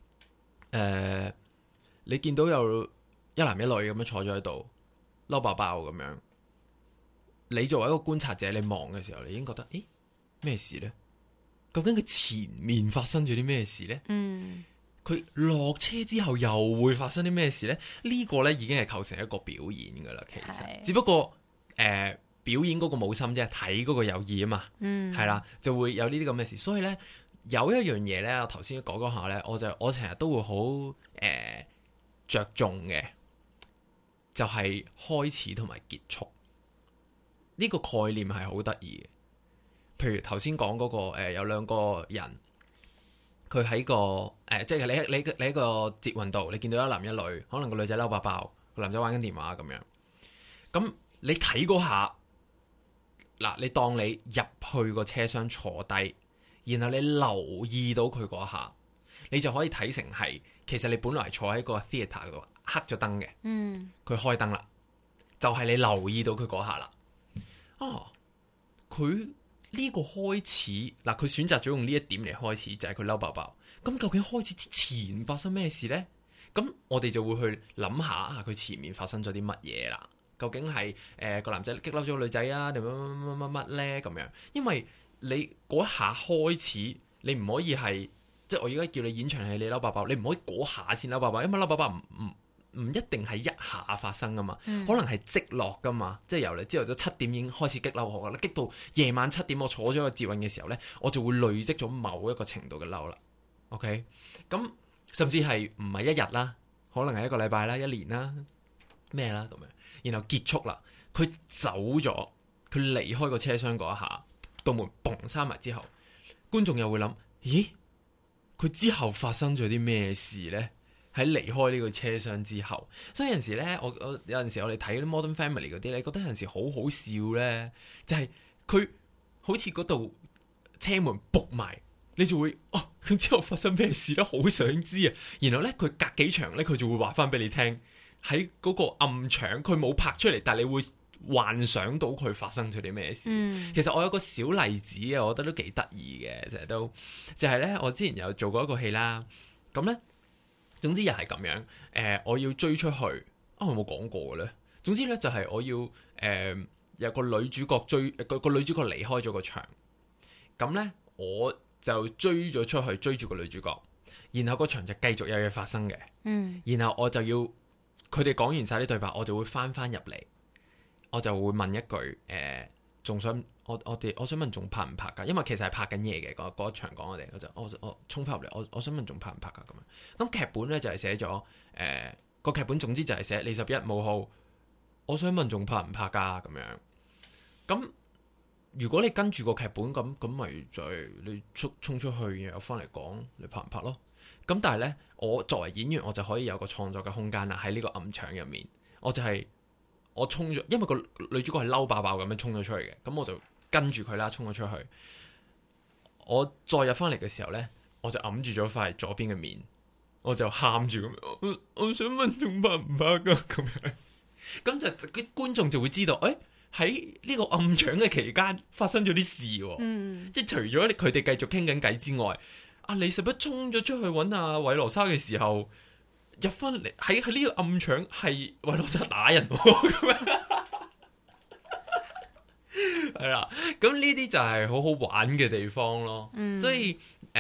你見到有一男一女咁樣坐咗喺度，嬲爆爆咁樣。你作為一個觀察者，你望嘅時候，你已經覺得，咦，咩事呢？究竟佢前面發生咗啲咩事呢？佢落車之後又會發生啲咩事呢？呢個呢已經係構成一個表演噶啦，其實只不過表演嗰個冇心啫，睇嗰個有意啊嘛，係啦，就會有呢啲咁嘅事。所以呢，有一樣嘢呢，我頭先講下呢，我成日都會好着重嘅，就係開始同埋結束呢個概念係好得意嘅。譬如頭先講嗰個有兩個人。佢喺個即係你喺個捷運度，你見到一男一女，可能個女仔嬲爆爆，個男仔玩緊電話咁樣。咁你睇嗰下，嗱，你當你入去個車廂坐低，然後你留意到佢嗰下，你就可以睇成係其實你本來坐喺個 theatre 度，黑咗燈嘅，佢開燈啦，就係你留意到佢嗰下啦。佢。呢個開始嗱，佢選擇咗用呢一點嚟開始，就係佢嬲爆爆。咁究竟開始之前發生咩事呢？咁我哋就會去諗下佢前面發生咗啲乜嘢啦。究竟係個男仔激嬲咗個女仔啊，定乜呢？咁樣，因為你嗰一下開始，你唔可以係即係我而家叫你演場戲，你嬲爆爆，你唔可以嗰下先嬲爆爆，因為嬲爆爆唔一定係一下發生噶嘛，可能係積落噶嘛，即係由你朝頭早7點已經開始激嬲我噶啦，激到夜晚7點我坐咗個捷運嘅時候呢，我就會累積咗某一個程度嘅嬲啦。OK，咁甚至係唔係一日啦，可能係一個禮拜啦、1年啦、咩啦咁樣，然後結束啦，佢走咗，佢離開個車廂嗰一下，道門嘣閂埋之後，觀眾又會諗：咦，佢之後發生咗啲咩事呢？喺離開呢個車廂之後，所以有陣時咧，我有陣時我哋睇嗰啲 Modern Family 嗰啲咧，覺得有陣時好好笑咧，就係佢好似嗰度車門仆埋，你就會佢之後發生咩事咧，好想知啊！然後咧，佢隔幾場咧，佢就會話翻俾你聽，喺嗰個暗場，佢冇拍出嚟，但係你會幻想到佢發生咗啲咩事。其實我有個小例子啊，我覺得都幾得意嘅，成日都就係咧，我之前有做過一個戲啦，咁咧。總之又係咁樣，我要追出去，我有冇講過嘅咧？總之咧就係我要有個女主角追個女主角離開咗個場，咁咧我就追咗出去追住個女主角， 然後個場就繼續有嘢發生嘅，然後我就要佢哋講完晒啲對白，我就會翻入嚟，我就會問一句仲想我想問仲拍唔拍㗎？因為其實係拍緊嘢嘅嗰一場講我衝翻入嚟，我想問仲拍唔拍㗎咁樣。咁劇本咧就係寫咗個劇本，總之就係寫你11冒號，我想問仲拍唔拍㗎咁樣。咁如果你跟住個劇本咁咪就係你衝出去，然後翻嚟講你拍唔拍咯。咁但係咧，我作為演員，我就可以有個創作嘅空間啦。喺呢個暗場入面，我衝咗，因為個女主角係嬲爆爆咁樣衝咗出去嘅，咁我就跟住佢啦，衝咗出去。我再入翻嚟嘅時候咧，我就揞住咗塊左邊嘅面，我就喊住咁，我想問仲拍唔拍噶咁樣。咁就啲觀眾就會知道，喺呢個暗場嘅期間發生咗啲事，即係除咗佢哋繼續傾緊偈之外，阿李拾壹衝咗出去揾阿韋羅莎嘅時候，入翻嚟喺呢個暗場係韋羅莎打人，咁樣係啦。咁呢啲就係好好玩嘅地方咯。所以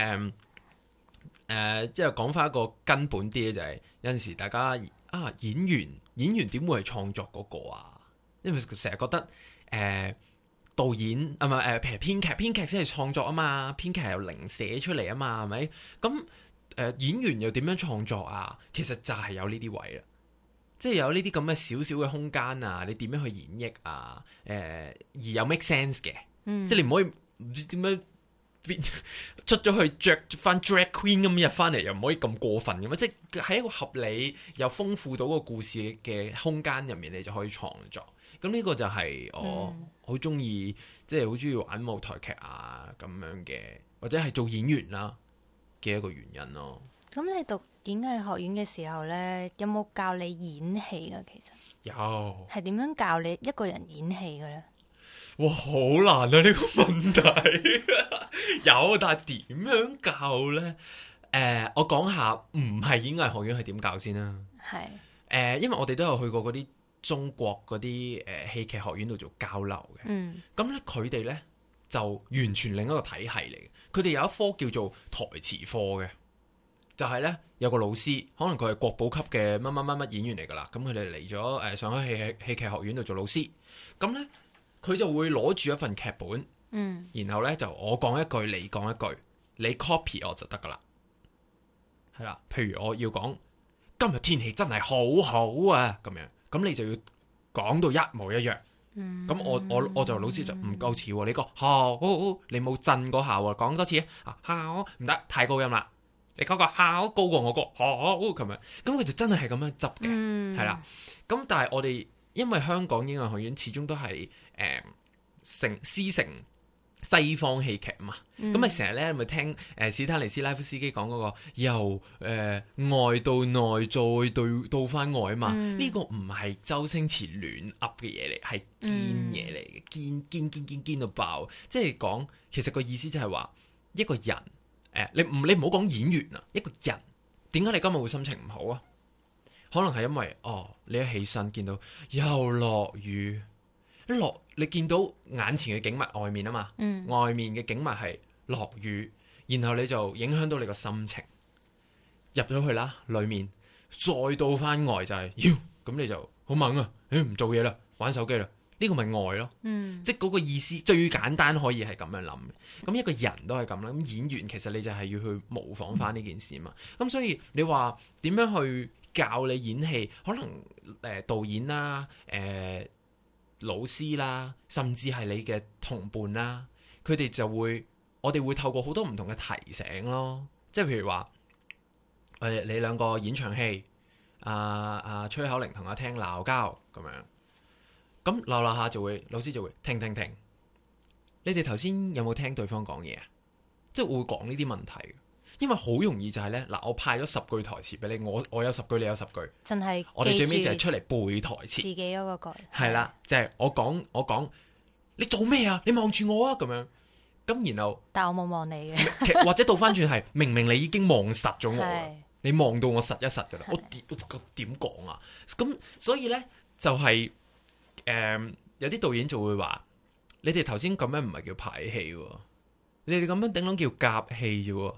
即係講翻一個根本啲嘅就係有陣時大家演員點會係創作嗰個啊？因為成日覺得導演啊，唔係譬如編劇先係創作啊嘛，編劇係由零寫出嚟啊嘛，係咪？咁演員又點樣創作啊？其實就係有呢啲位啦，即係有呢啲咁嘅少少嘅空間啊，你點樣去演繹啊？而有 make sense 嘅，即係你唔可以唔知點樣出咗去着翻 drag queen 咁入翻嚟，又唔可以咁過分嘅嘛？即係喺一個合理又豐富到個故事嘅空間入面，你就可以創作。咁呢個就係我好中意，即係好中意玩舞台劇啊咁樣嘅，或者係做演員啦嘅一個原因咯。 咁你讀演藝學院嘅時候呢，有冇教你演戲噶？其實有，係點樣教你一個人演戲嘅呢？ 哇，好難啊！呢個問題有，但係點樣教呢？我講下唔係演藝學院係點教先啦。係因為我哋都有去過嗰啲中國嗰啲戲劇學院度做交流嘅。咁咧佢哋咧就完全另一個體系嚟嘅。佢哋有一科叫做台詞課嘅，就係咧有個老師，可能佢係國寶級嘅乜乜乜乜演員嚟噶啦。咁佢哋嚟咗上海戲劇學院度做老師。咁咧佢就會攞住一份劇本，然後咧就我講一句，你講一句，你 copy 我就得噶啦。係啦，譬如我要講今日天氣真係好好啊，咁樣，咁你就要講到一模一樣。咁我就老師就唔夠似喎，你講好，你冇震嗰下喎，講多次好唔得，太高音啦，你嗰個好高過我個好咁樣，咁佢就真係咁樣執嘅，係啦。咁但係我哋因為香港演藝學院始終都係師承西方戲劇嘛，咁咪成日咧咪聽史坦尼斯拉夫斯基講嗰個由外到內再到翻外啊嘛，呢個唔係周星馳亂噏嘅嘢嚟，係堅嘢嚟嘅，堅到爆。即係講其實個意思就係話一個人你唔好講演員啊，一個人點解你今日會心情唔好啊？可能係因為你一起身見到又落雨。你見到眼前嘅景物外面啊嘛，外面嘅景物係落雨，然後你就影響到你個心情，入咗去啦，裏面再到翻外就係咁你就好猛啊，唔做嘢啦，玩手機啦，呢個咪愛咯，即係嗰個意思最簡單可以係咁樣諗嘅。咁一個人都係咁啦，咁演員其實你就係要去模仿翻呢件事嘛。咁所以你話點樣去教你演戲，可能導演啦，老師啦，甚至係你嘅同伴啦，佢哋就會，我哋會透過好多唔同嘅提醒咯，即係譬如話，你兩個演場戲，崔口玲同阿聽鬧交咁樣，咁鬧下就會，老師就會停，你哋頭先有冇聽對方講嘢啊？即係會講呢啲問題。因為好容易就係咧，我派咗10句台詞俾你，我有10句，你有10句，真係我哋最尾就係出嚟背台詞，自己嗰個係啦，就係我講，你做咩啊？你望住我啊，咁樣，咁然後，但我冇望你嘅，或者倒翻轉係，明明你已經望實咗我，你望到我實一實噶啦，我點講啊？咁所以咧就係有啲導演就會話，你哋頭先咁樣唔係叫排戲，你哋咁樣頂籠叫夾戲啫。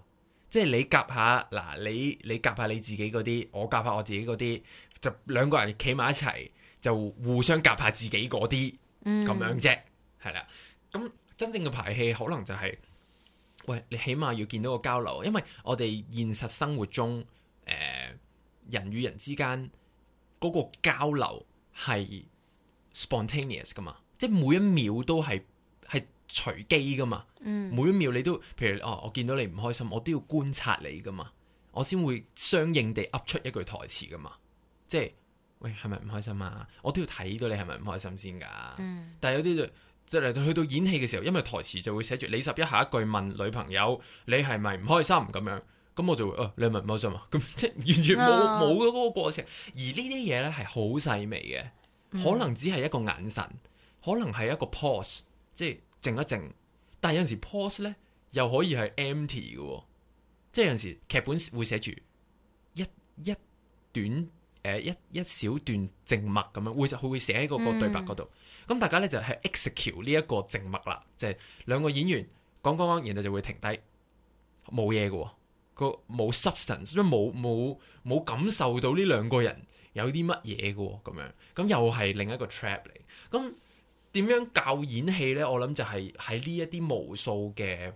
即係你夾下嗱，你夾下你自己嗰啲，我夾下我自己嗰啲，就兩個人企埋一齊，就互相夾下自己嗰啲咁樣啫，係啦。咁真正嘅排戲可能就係、喂，你起碼要見到個交流，因為我哋現實生活中人與人之間嗰個交流係 spontaneous 噶嘛，即係每一秒都係隨機噶嘛，每一秒你都，譬如我見到你唔開心，我都要觀察你噶嘛，我先會相應地噏出一句台詞噶嘛，即係喂，係咪唔開心啊？我都要睇到你係咪唔開心先噶。但係有啲就即係去到演戲嘅時候，因為台詞就會寫住你11下一句問女朋友你係咪唔開心咁樣，咁我就會你係咪唔開心啊？咁即係完全冇嗰個過程。而呢啲嘢咧係好細微嘅，可能只係一個眼神，可能係一個 pause， 即係靜一靜。但係有陣時 pause 咧又可以係 empty 嘅，即係有陣時劇本會寫住一段一小段靜默咁樣，佢會寫喺嗰個對白嗰度。咁大家咧就係 execute 呢一個靜默啦，即係兩個演員講，然後就會停低，冇嘢嘅，個冇 substance，即係冇感受到呢兩個人有啲乜嘢嘅咁樣。咁又係另一個 trap 嚟。咁點樣教演戲咧？我諗就係喺呢一啲無數嘅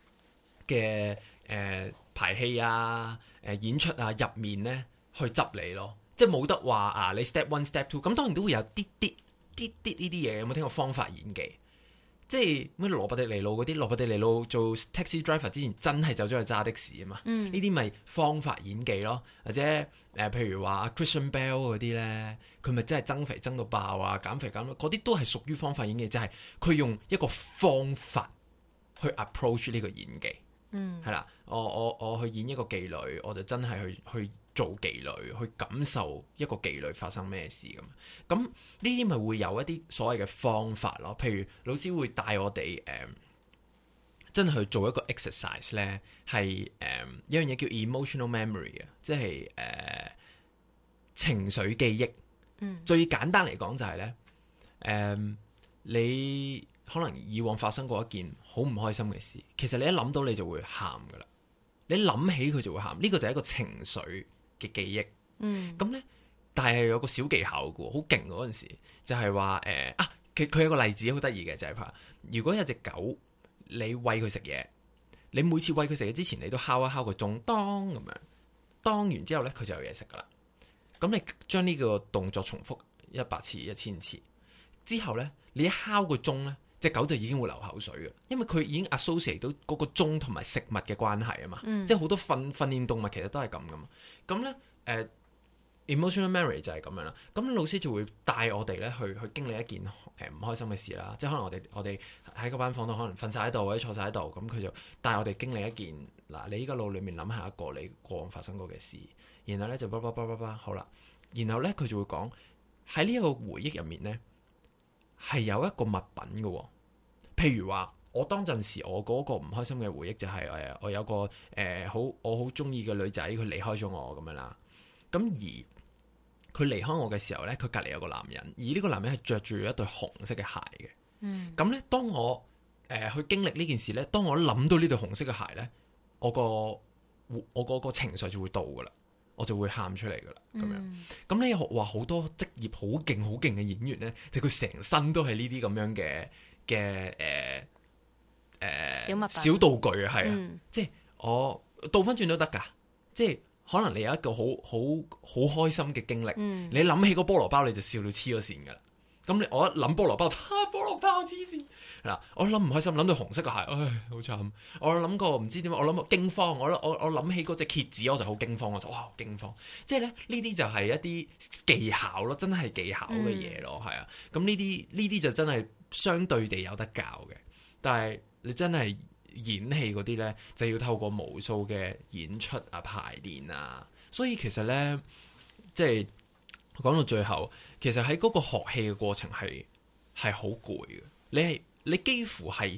排戲啊、演出啊入面咧去執你咯。即係冇得話啊！你 step one step two， 咁當然都會有啲呢啲嘢。有冇聽過方法演技？即係咩羅伯迪尼路嗰啲？羅伯迪尼路做 taxi driver 之前真係走咗去揸的士啊嘛。呢啲咪方法演技咯。或者譬如話 Christian Bale 嗰啲咧，佢咪真係增肥增到爆啊，減肥減到嗰啲都係屬於方法演技，就係佢用一個方法去 approach 呢個演技。係啦，我去演一個妓女，我就真係去做妓女，去感受一個妓女發生咩事咁。呢啲咪會有一啲所謂嘅方法咯。譬如老師會帶我哋真係去做一個 exercise 咧，係一樣嘢叫 emotional memory 啊，即係情緒記憶。最簡單嚟講就係咧，你可能以往發生過一件好唔開心嘅事，其實你一諗到你就會喊噶啦，你諗起佢就會喊，呢個就係一個情緒嘅記憶。咁咧，但係有個小技巧嘅，好勁嗰陣時，就係話佢有個例子好得意嘅，就係話如果有隻狗，你餵佢食嘢，你每次餵佢食嘢之前，你都敲一敲個鐘，當咁樣，當完之後咧，佢就有嘢食噶啦。咁你將呢個動作重複100次、1000次之後咧，你一敲個鐘咧，隻狗就已經會流口水嘅，因為佢已經 associate 到嗰個鐘同埋食物嘅關係啊嘛。即係好多訓練動物其實都係咁噶嘛。咁咧emotional memory 就係咁樣啦。咁老師就會帶我哋咧去經歷一件唔開心嘅事啦。即係可能我哋喺個班房度可能瞓晒喺度或者坐晒喺度，咁佢就帶我哋經歷一件嗱，你依家腦裏面諗下一個你過往發生過嘅事，然後咧就好啦。然後咧佢就會講喺呢一個回憶入面咧係有一個物品嘅。譬如話我當陣時我嗰個唔開心嘅回憶就係我有個我好中意嘅女仔，佢離開咗我咁樣啦。咁而佢離開我嘅時候咧，佢隔籬有個男人，而呢個男人係着住一對紅色嘅鞋嘅。咁咧，當我去經歷呢件事咧，當我諗到呢對紅色嘅鞋咧，我個情緒就會到噶啦，我就會喊出嚟噶啦，咁樣。咁你話好多職業好勁嘅演員咧，就佢成身都係呢啲咁樣嘅小物品、 小道具啊，係啊，即係我倒翻轉都得噶，即係可能你有一個好開心嘅經歷，你諗起個菠蘿包你就笑到黐咗線噶啦。咁我一諗菠蘿包，菠蘿包黐線嗱，我諗唔開心，諗到紅色嘅鞋，唉，好慘。我諗過唔知點解，我諗過驚慌，我諗起嗰隻蠍子，我就好驚慌，我就哇驚慌。即係咧呢啲就係一啲技巧咯，真係技巧嘅嘢咯，係啊。咁呢啲就真係相對地有得教嘅，但係你真係演戲嗰啲咧，就要透過無數嘅演出啊、排練啊，所以其實咧，即係講到最後，其實喺嗰個學戲嘅過程係好攰嘅。你幾乎係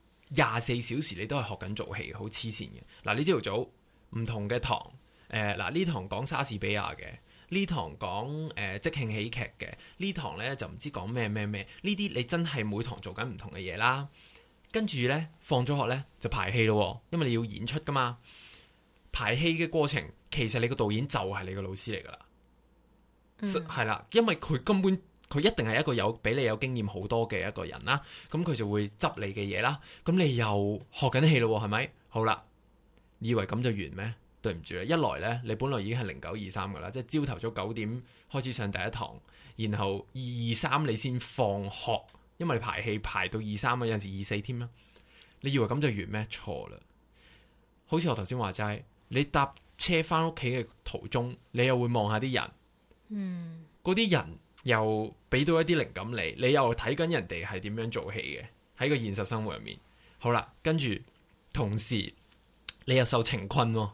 24小時你都係學緊做戲，好黐線嘅。嗱，你朝頭早唔同嘅堂，嗱呢堂講莎士比亞嘅，呢堂講即興喜劇嘅，呢堂咧就唔知講咩，呢啲你真係每堂做緊唔同嘅嘢啦。跟住咧放咗學咧就排戲咯，因為你要演出噶嘛。 排戲嘅過程，其實你個導演就係你個老師嚟噶啦，係啦，因為佢根本佢一定係一個比你有經驗好多嘅一個人啦，咁佢就會執你嘅嘢啦，咁你又學緊戲咯，係咪？好啦，你以為咁就完咩？對唔住啦，一來呢，你本來已經係0923噶啦，即係朝頭早9點開始上第一堂，然後223你先放學，因為你排戲排到23啊，有陣時24添啦。你以為咁就完咩？錯啦！好似我頭先話齋，你搭車翻屋企嘅途中，你又會望下啲人，嗰啲人又俾到一啲靈感你又睇緊人哋係點樣做戲嘅喺個現實生活入面。好啦，跟住同時你又受情困喎。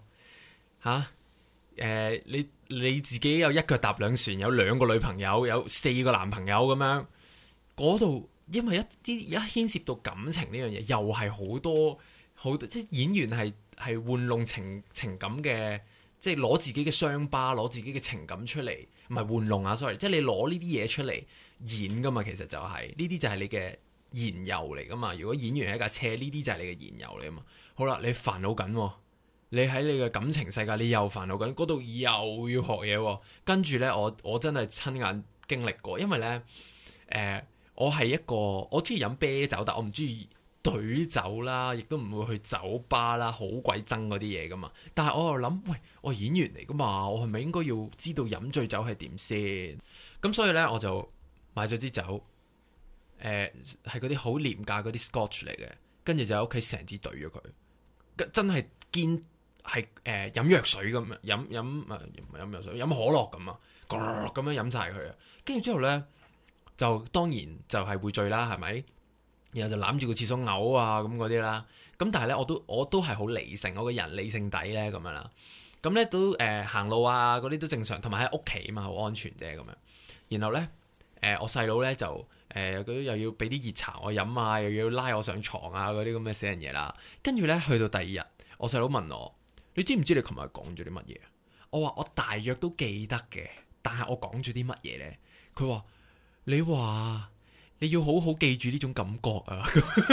你自己有一腳踏兩船，有2個女朋友，有4個男朋友咁樣，嗰度因為一牽涉到感情呢樣嘢，又係好多即係演員係玩弄情感嘅，即係攞自己嘅傷疤，攞自己嘅情感出嚟，唔係玩弄啊 ，sorry， 即係你攞呢啲嘢出嚟演噶嘛，其實就係呢啲就係你嘅燃油嚟噶嘛。如果演員係一架車，呢啲就係你嘅燃油嚟噶嘛。好啦，你煩惱緊。你喺你嘅感情世界，你又煩惱緊，嗰度又要學嘢，跟住呢，我真係親眼經歷過，因為呢，我係一個我中意飲啤酒，但我唔中意懟酒啦，亦都唔會去酒吧啦，好鬼憎嗰啲嘢噶嘛。但係我又諗，喂，我係演員嚟噶嘛，我係咪應該要知道飲醉酒係點先？咁所以呢，我就買咗支酒，係嗰啲好廉價嗰啲 Scotch 嚟嘅，跟住就喺屋企成支懟咗佢，真係堅。係飲藥水咁樣飲藥水飲可樂咁啊，咁樣飲晒佢啊，跟住之後呢，就當然就係會醉啦，係咪？然後就攬住個廁所嘔啊咁嗰啲啦，咁但係呢，我都係好理性，我個人理性底呢咁樣啦，咁呢都行路啊嗰啲都正常，同埋喺屋企嘛好安全啫咁樣。然後呢，我細佬呢就又要俾啲熱茶我飲啊，又要拉我上床啊嗰啲咁嘅死人嘢啦。跟住呢，去到第2日，我細佬問我。你知唔知你琴日講咗啲乜嘢？我話我大約都記得嘅，但係我講咗啲乜嘢呢？佢話你話你要好好記住呢種感覺啊！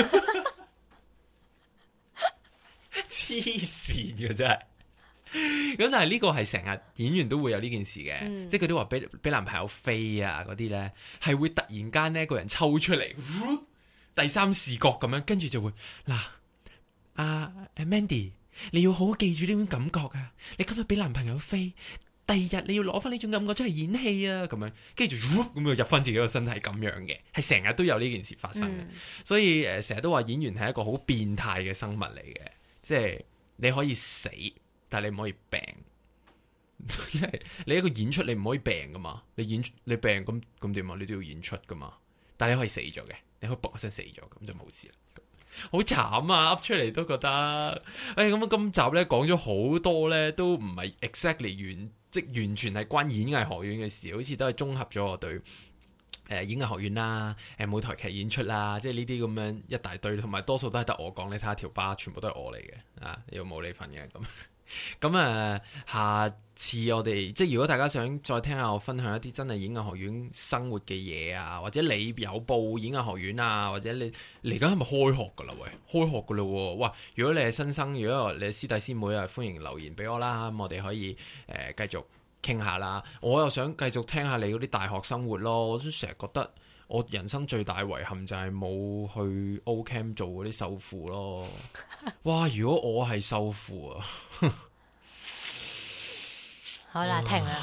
黐線嘅真係。咁但係呢個係成日演員都會有呢件事嘅，即係佢都話俾男朋友飛啊嗰啲呢，係會突然間呢個人抽出嚟，第三視覺咁樣，跟住就會嗱Mandy。你要好好記住呢種感覺啊！你今日俾男朋友飛，第2日你要攞翻呢種感覺出嚟演戲啊！咁樣，跟住咁就入翻自己個身體咁樣嘅，係成日都有呢件事發生嘅。所以成日都話演員係一個好變態嘅生物嚟嘅，即係你可以死，但係你唔可以病。即係你一個演出，你唔可以病噶嘛？你病咁點啊？你都要演出噶嘛？但係你可以死咗嘅，你可以卜一聲死咗，咁就冇事啦。好慘啊！噏出嚟都覺得，咁今集呢講咗好多呢，都唔係 exactly 完全係關演藝學院嘅事，好似都係綜合咗我對演藝學院啦、舞台劇演出啦，即係呢啲咁樣一大堆，同埋多數都係得我講，你睇下條巴，全部都係我嚟嘅啊，又冇你份嘅咁。咁下次我哋即係如果大家想再聽下我分享一啲真係演藝學院生活嘅嘢啊，或者你有報演藝學院啊，或者你嚟緊係咪開學噶啦？喂，開學噶啦喎！哇，如果你係新生，如果你係師弟師妹啊，歡迎留言俾我啦，咁我哋可以繼續傾下啦。我又想繼續聽下你嗰啲大學生活咯，我都成日覺得我人生最大遺憾就係冇去 O Camp 做嗰啲秀父咯。哇！如果我係秀父啊， 好啦，停啦。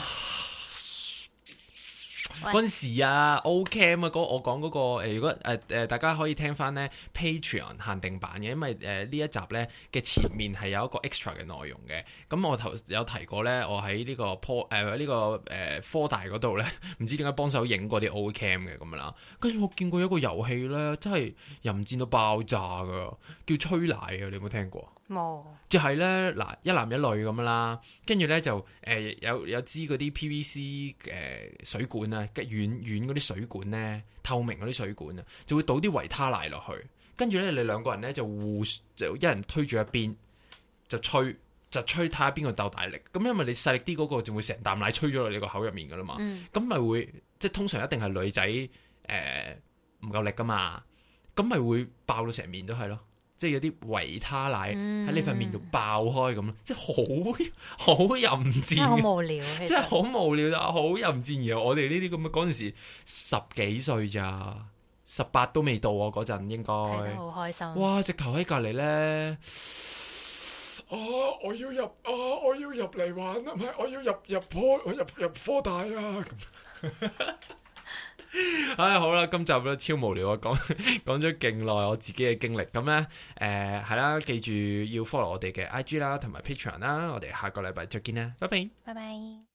嗰陣時啊 ，O Camp 啊，我講嗰個如果大家可以聽翻呢 Patreon 限定版嘅，因為呢一集呢嘅前面係有一個 extra 嘅內容嘅。咁我有提過呢，我喺呢個科大嗰度呢，唔知點解幫手影過啲 O Camp 嘅咁樣啦。跟住我見過一個遊戲呢，真係淫賤到爆炸噶，叫吹奶啊！你有冇聽過？冇，就係咧嗱，一男一女咁樣啦，跟住咧就有支嗰啲 PVC 水管啊，軟嗰啲水管咧，透明嗰啲水管啊，就會倒啲維他奶落去，跟住咧你兩個人咧就一人推住一邊，就吹睇下邊個鬥大力，咁因為你細力啲嗰個就會成啖奶吹咗落你個口入面噶啦嘛，咁咪會即係通常一定係女仔唔夠力噶嘛，咁咪會爆到成面都係咯。 即係有啲維他奶喺你塊面度爆開咁，即係好淫賤， 真係好無聊， 真係好無聊啊，好淫賤。而我哋呢啲咁嘅嗰陣時10幾歲咋，18都未到啊，嗰陣應該睇得好開心。 哇！直頭喺隔離咧，我要入嚟玩啊，唔係我要入科大啊咁。唉，好啦，今集都超無聊啊，講咗勁耐我自己嘅經歷，咁呢，係啦，記住要 follow 我哋嘅 IG 啦，同埋 Patreon 啦，我哋下個禮拜再見啦，拜拜， 拜拜。